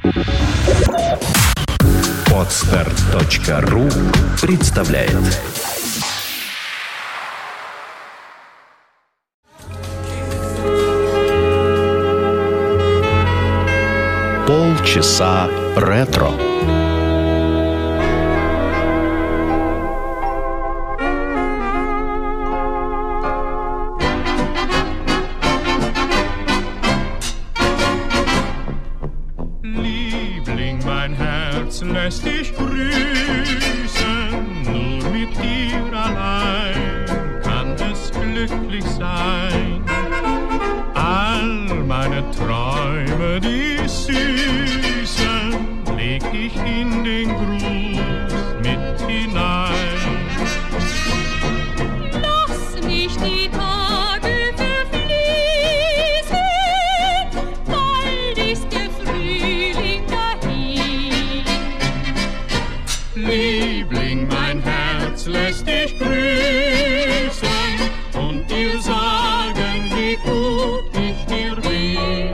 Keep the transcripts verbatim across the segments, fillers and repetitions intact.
Подстер точка ру представляет. Полчаса ретро. Lässt dich grüßen, nur mit dir allein kann es glücklich sein. All meine Träume, die süßen, leg ich in den Gruß mit hinein. Lass nicht die Tage verfließen, bald ist der Frühling dahin. Liebling, mein Herz lässt dich grüßen und dir sagen, wie gut ich dir bin.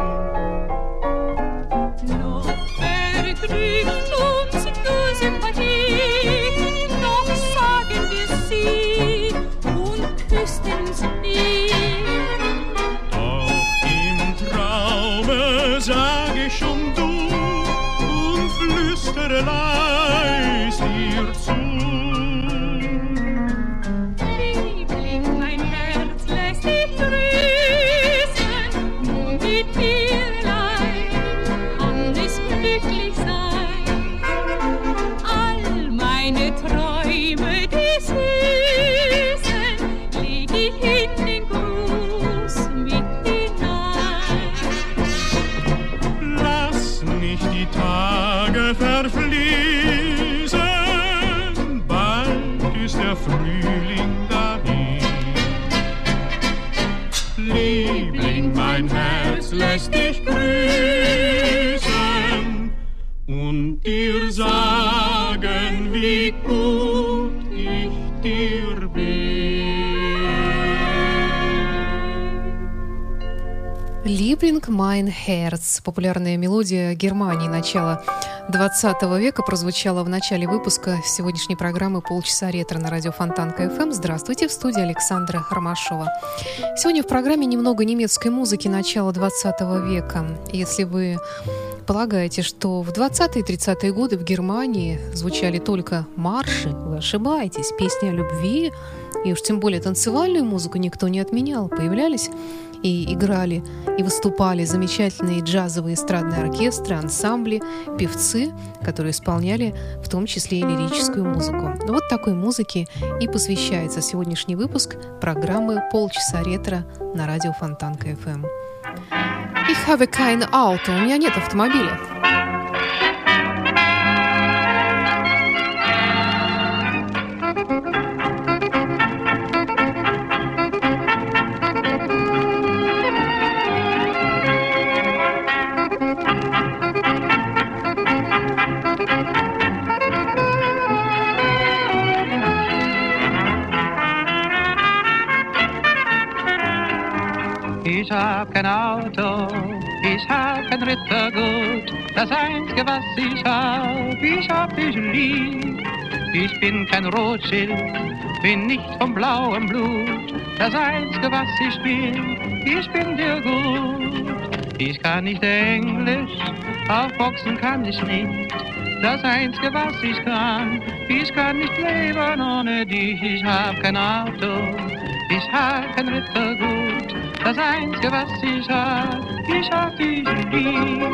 Noch vergnügt uns nur Sympathie, noch sagen wir sie und küssten sie nie. Doch im Traume sag ich um du und flüstere leis dir zu. Liebling, mein Herz lässt dich grüßen, nur mit dir allein kann es glücklich sein. All meine Träume, die süßen, leg ich in den Gruß mit hinein. Lass nicht die Tage verfließen, bald ist der Frühling dahin. Liebling, mein Herz lässt dich grüßen und dir sagen, wie gut ich dir bin. «Liebling mein Herz» — популярная мелодия Германии начала двадцатого века, прозвучала в начале выпуска сегодняшней программы «Полчаса ретро» на радио Фонтанка эф эм. Здравствуйте, в студии Александра Ромашова. Сегодня в программе немного немецкой музыки начала двадцатого века. Если вы полагаете, что в двадцатые и тридцатые годы в Германии звучали только марши, вы ошибаетесь. Песни о любви и уж тем более танцевальную музыку никто не отменял. Появлялись и играли, и выступали замечательные джазовые эстрадные оркестры, ансамбли, певцы, которые исполняли в том числе и лирическую музыку. Вот такой музыке и посвящается сегодняшний выпуск программы «Полчаса ретро» на радио Фонтанка эф эм. Ich habe kein Auto. У меня нет автомобиля. Ich hab kein Auto, ich hab kein Rittergut, das Einzige, was ich hab, ich hab dich lieb. Ich bin kein Rothschild, bin nicht vom blauen Blut, das Einzige, was ich bin, ich bin dir gut. Ich kann nicht Englisch, auf Boxen kann ich nicht, das Einzige, was ich kann, ich kann nicht leben ohne dich. Ich hab kein Auto, ich hab kein Rittergut, das Einzige, was ich hab, ich hab dich lieb.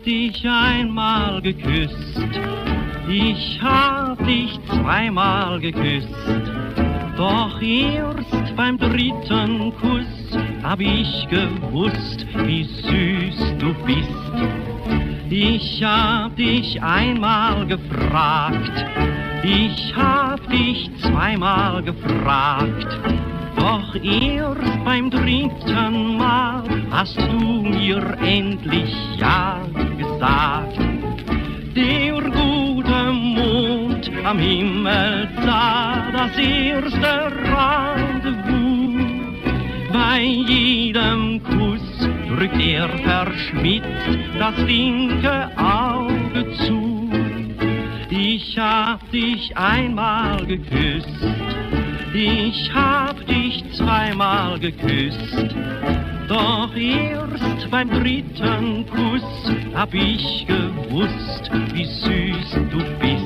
hab dich einmal geküsst, ich hab dich zweimal geküsst, doch erst beim dritten Kuss hab ich gewusst, wie süß du bist. Ich hab dich einmal gefragt, ich hab dich zweimal gefragt, doch erst beim dritten Mal hast du mir endlich ja gesagt. Der gute Mond am Himmel sah das erste Rendezvous. Bei jedem Kuss drückt er verschmitzt das linke Auge zu. Ich hab dich einmal geküsst, ich hab dich zweimal geküsst, doch erst beim dritten Kuss hab ich gewusst, wie süß du bist.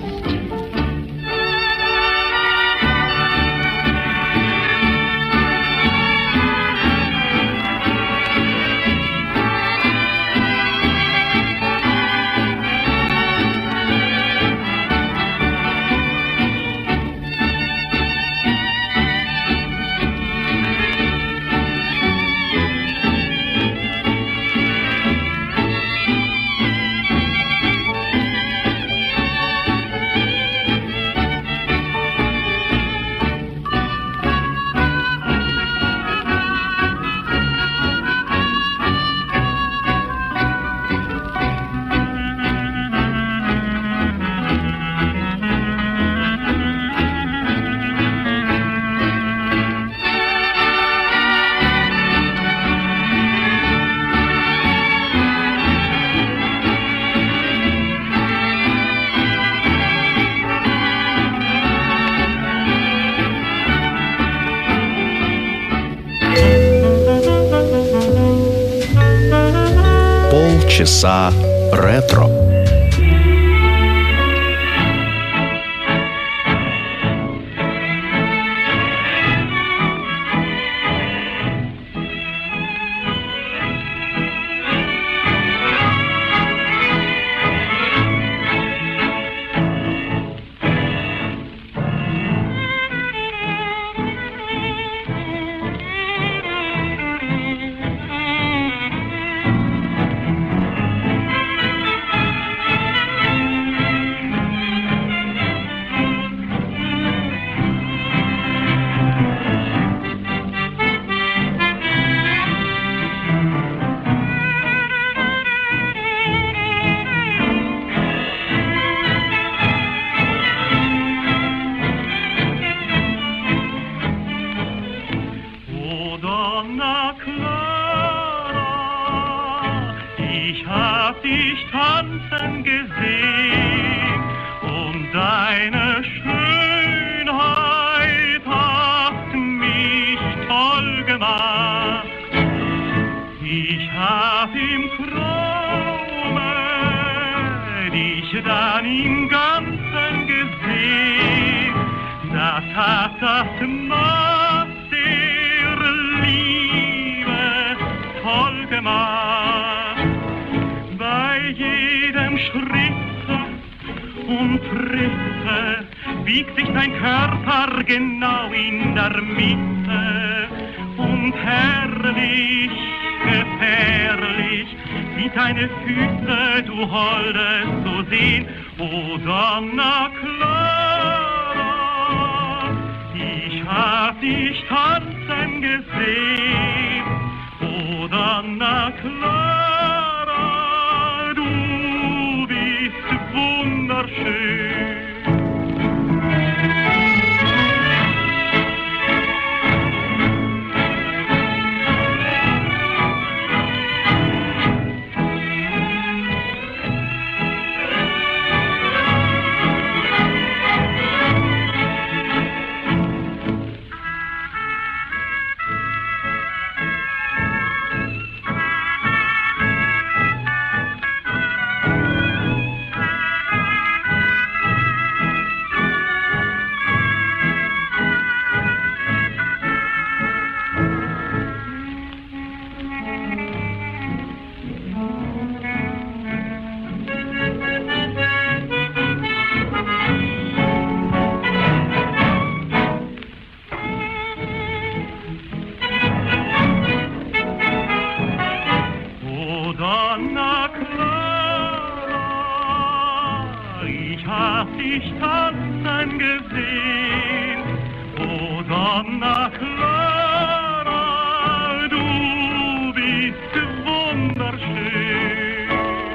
Часа ретро. hab ich tanzen gesehen. O Donna Clara, du bist wunderschön.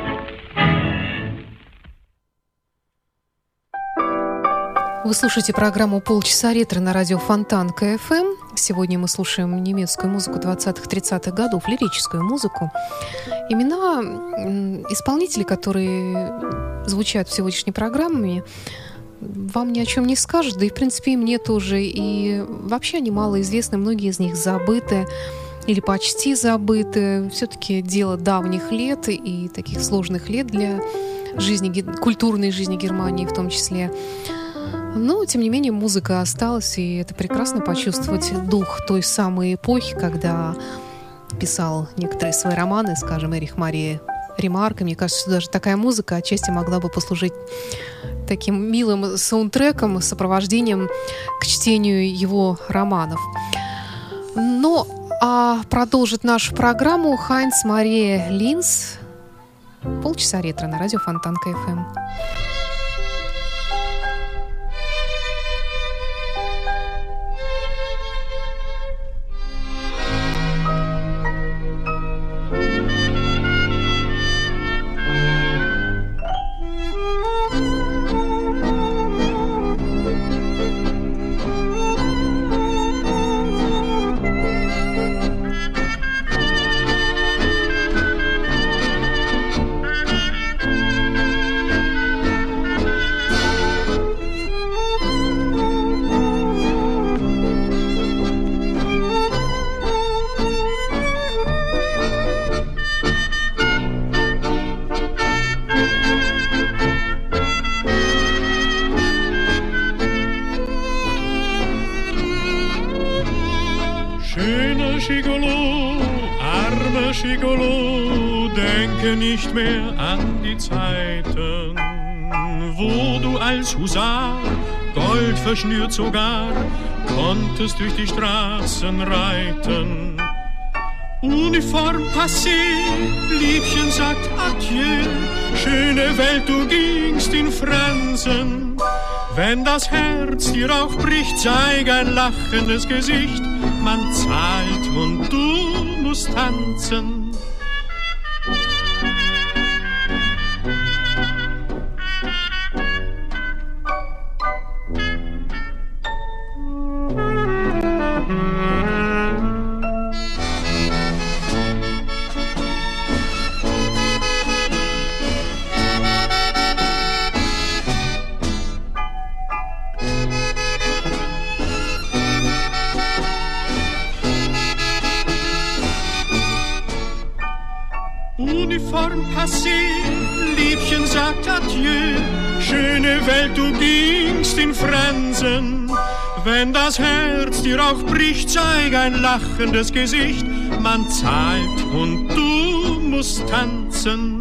Вы слушаете программу «Полчаса ретро» на радио Фонтан КФМ. Сегодня мы слушаем немецкую музыку двадцатых-тридцатых годов, лирическую музыку. Имена исполнителей, которые звучат в сегодняшней программе, вам ни о чем не скажут, да и, в принципе, и мне тоже. И вообще они малоизвестны, многие из них забыты или почти забыты. Все-таки дело давних лет и таких сложных лет для жизни, культурной жизни Германии в том числе. Но, тем не менее, музыка осталась, и это прекрасно почувствовать дух той самой эпохи, когда писал некоторые свои романы, скажем, Эрих Мария Ремарк. И мне кажется, что даже такая музыка отчасти могла бы послужить таким милым саундтреком, сопровождением к чтению его романов. Но а продолжит нашу программу Хайнц Мария Линц. Полчаса ретро на радио Фонтан КФМ. Gigolo, denke nicht mehr an die Zeiten, wo du als Husar, Gold verschnürt sogar, konntest durch die Straßen reiten. Uniform passé, Liebchen sagt Adieu, schöne Welt, du gingst in Fransen. Wenn das Herz dir auch bricht, zeig ein lachendes Gesicht, man zahlt und du musst tanzen. Uniform passé, Liebchen sagt Adieu, schöne Welt, du gingst in Fransen. Wenn das Herz dir auch bricht, zeig ein lachendes Gesicht, man zahlt und du musst tanzen.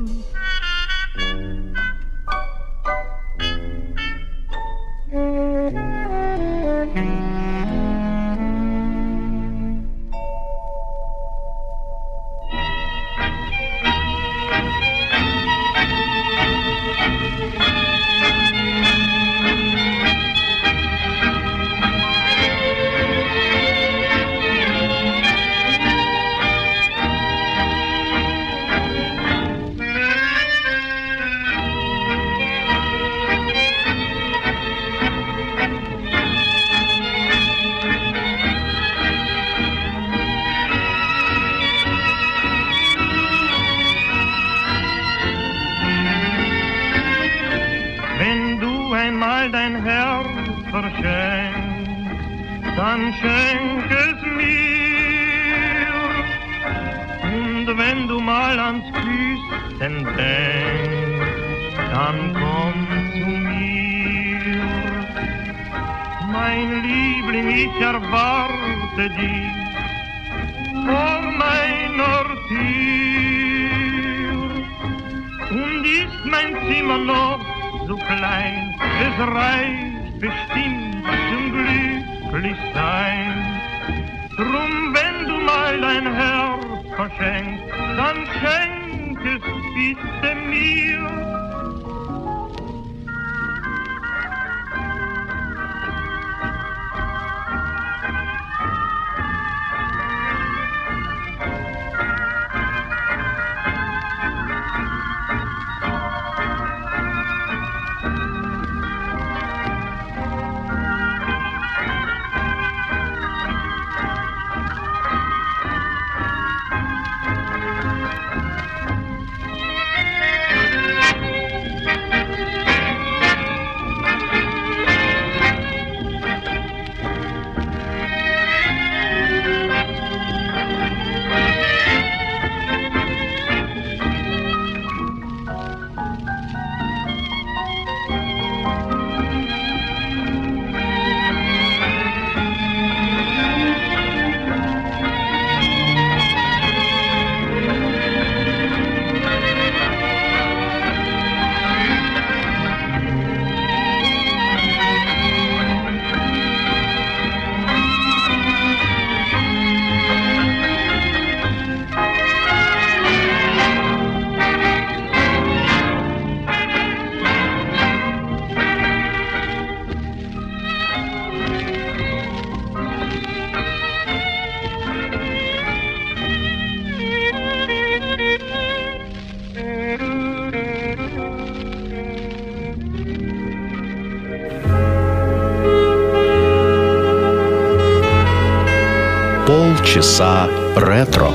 Dann schenk es mir, und wenn du mal ans Küssen denkst, dann komm zu mir. Mein Liebling, ich erwarte dich vor meiner Tür, und ist mein Zimmer noch so klein, es reicht bestimmt zum glücklich sein. Drum, wenn du mal dein Herz verschenkst, dann schenk es bitte mir. Полчаса ретро.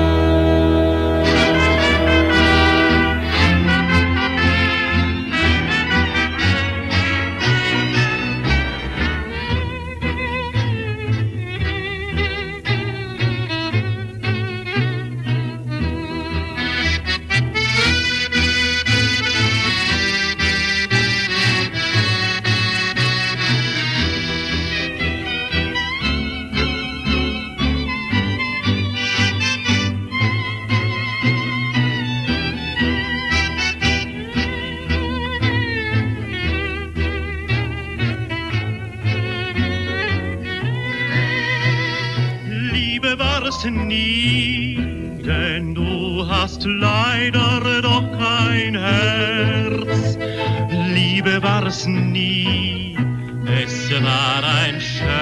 Nie, denn du hast leider doch kein Herz. Liebe war es nie, es war ein Scherz.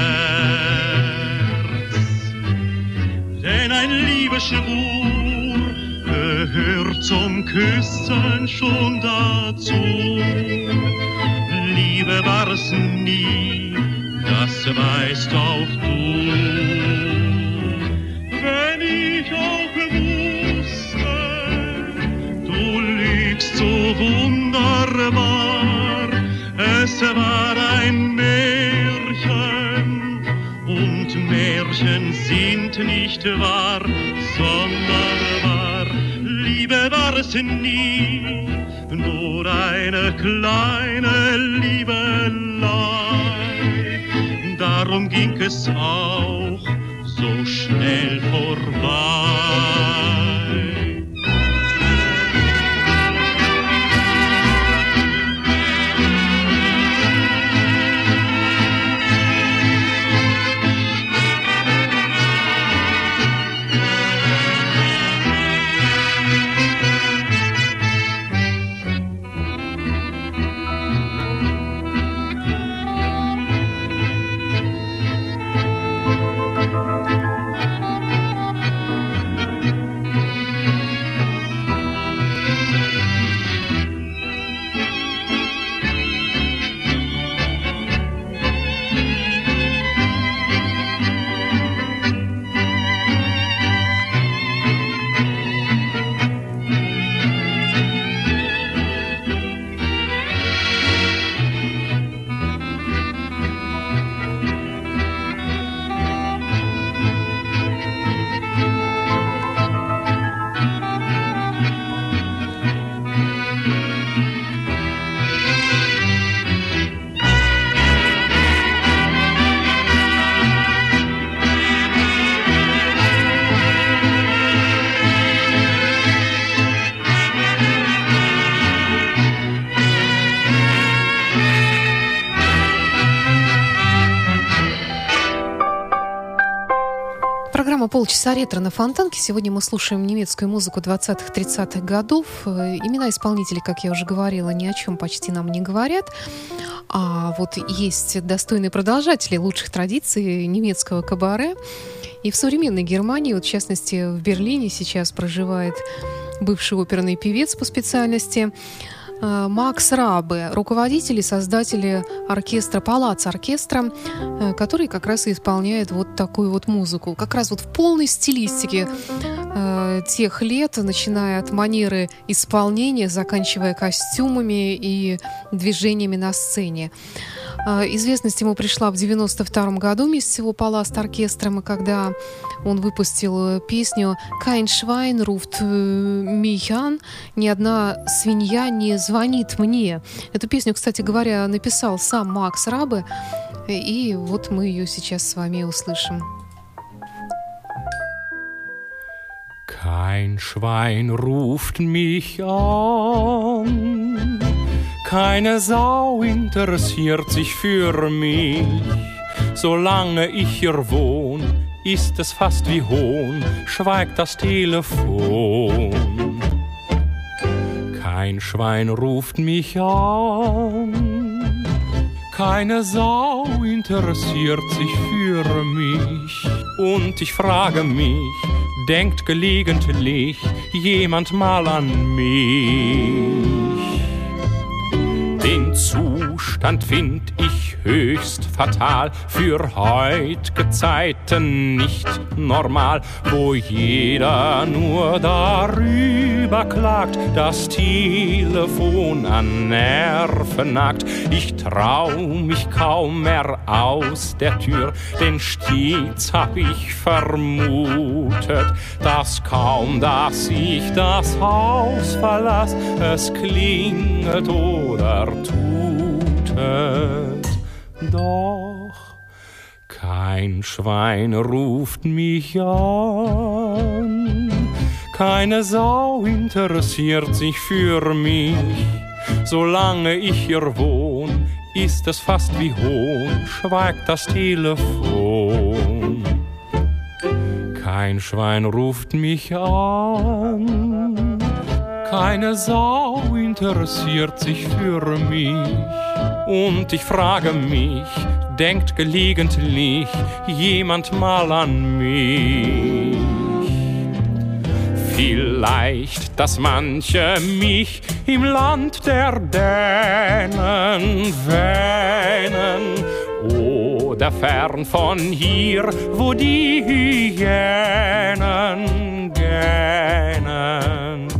Denn ein Liebesschwur gehört zum Küssen schon dazu. Liebe war es nie, das weißt auch du. Wenn ich auch wusste, du lügst so wunderbar, es war ein Märchen und Märchen sind nicht wahr, sondern wahr. Liebe war es nie, nur eine kleine Liebelei, darum ging es auch so schnell vorbei. Полчаса ретро на Фонтанке. Сегодня мы слушаем немецкую музыку двадцатых-тридцатых годов. Имена исполнителей, как я уже говорила, ни о чем почти нам не говорят. А вот есть достойные продолжатели лучших традиций немецкого кабаре. И в современной Германии, вот в частности в Берлине, сейчас проживает бывший оперный певец по специальности Макс Рабе, руководитель и создатель оркестра «Палац-оркестра», который как раз и исполняет вот такую вот музыку. Как раз вот в полной стилистике э, тех лет, начиная от манеры исполнения, заканчивая костюмами и движениями на сцене. Э, известность ему пришла в девяносто втором году вместе с его «Палац-оркестром», когда он выпустил песню «Kein Schwein ruft mich an», «Ни одна свинья не звонит мне». Эту песню, кстати говоря, написал сам Макс Рабе, и вот мы ее сейчас с вами услышим. Kein Schwein ruft mich an, keine Sau interessiert sich für mich, solange ich hier wohn, ist es fast wie Hohn, schweigt das Telefon. Kein Schwein ruft mich an, keine Sau interessiert sich für mich. Und ich frage mich, denkt gelegentlich jemand mal an mich? Den Zustand find ich höchst fatal, für heut'ge Zeiten nicht normal, wo jeder nur darüber klagt, das Telefon an Nerven nagt. Ich trau mich kaum mehr aus der Tür, denn stets hab ich vermutet, dass kaum, dass ich das Haus verlass, es klingelt oder tutet. Doch kein Schwein ruft mich an, keine Sau interessiert sich für mich. Solange ich hier wohn, ist es fast wie Hohn, schweigt das Telefon. Kein Schwein ruft mich an, keine Sau interessiert sich für mich. Und ich frage mich, denkt gelegentlich jemand mal an mich? Vielleicht, dass manche mich im Land der Dänen wähnen oder fern von hier, wo die Hyänen gähnen.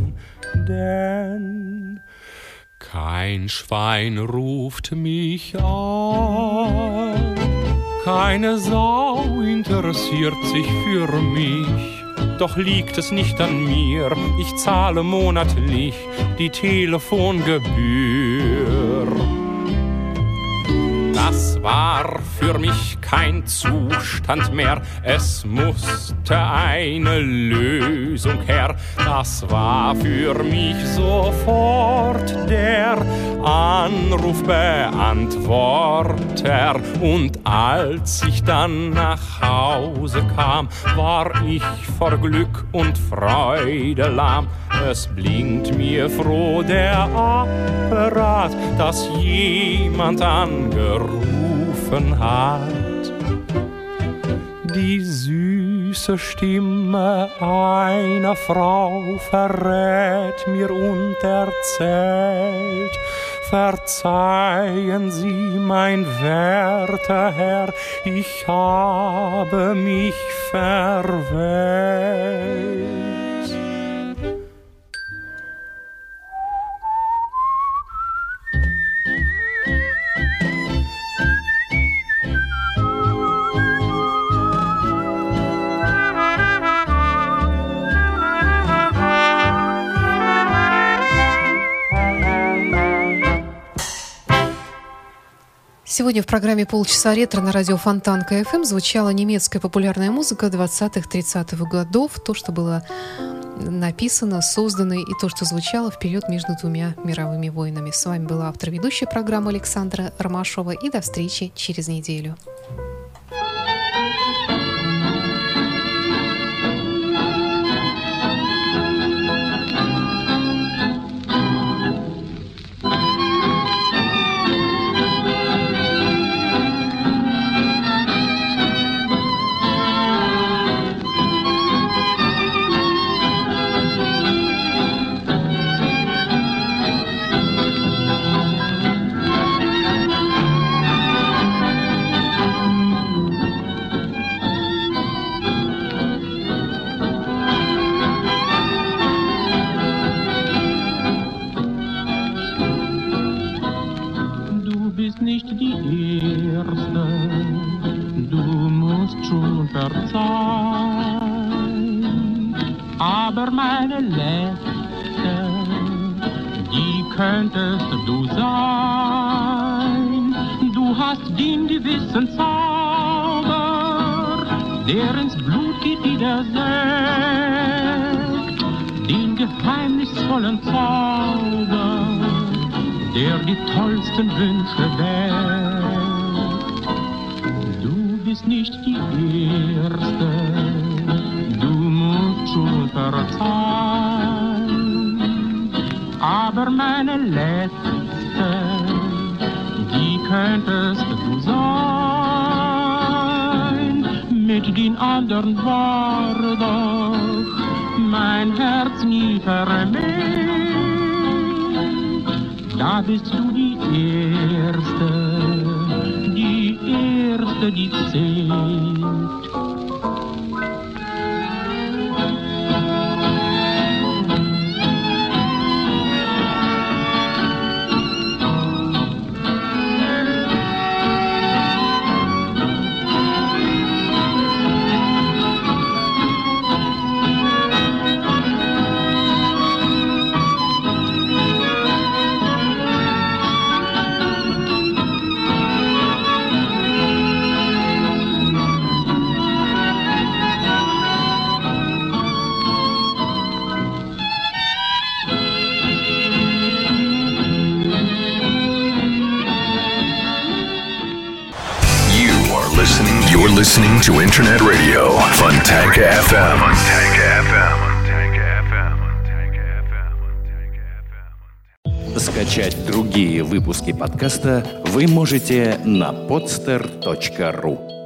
Denn kein Schwein ruft mich an, keine Sau interessiert sich für mich. Doch liegt es nicht an mir, ich zahle monatlich die Telefongebühr. Das war für mich kein Zustand mehr, es musste eine Lösung her. Das war für mich sofort der Anrufbeantworter. Und als ich dann nach Hause kam, war ich vor Glück und Freude lahm. Es blinkt mir froh der Apparat, dass jemand angerufen hat. Die süße Stimme einer Frau verrät mir und erzählt: Verzeihen Sie, mein werter Herr, ich habe mich verwählt. Сегодня в программе «Полчаса ретро» на радио Фонтанка эф эм звучала немецкая популярная музыка двадцатых-тридцатых годов, то, что было написано, создано и то, что звучало в период между двумя мировыми войнами. С вами была автор-ведущая программы Александра Ромашова, и до встречи через неделю. Aber meine Letzte, die könntest du sein. Du hast den gewissen Zauber, der ins Blut geht wie der Sekt. Den geheimnisvollen Zauber, der die tollsten Wünsche weckt. Du bist nicht die Erste, schon verzeihen, aber meine Letzte, die könntest du sein. Mit den anderen war doch mein Herz nie vermisst. da bist du die Erste, die Erste, die zählt. You're listening to Internet Radio Fontanka эф эм. Скачать другие выпуски подкаста вы можете на podster точка ру.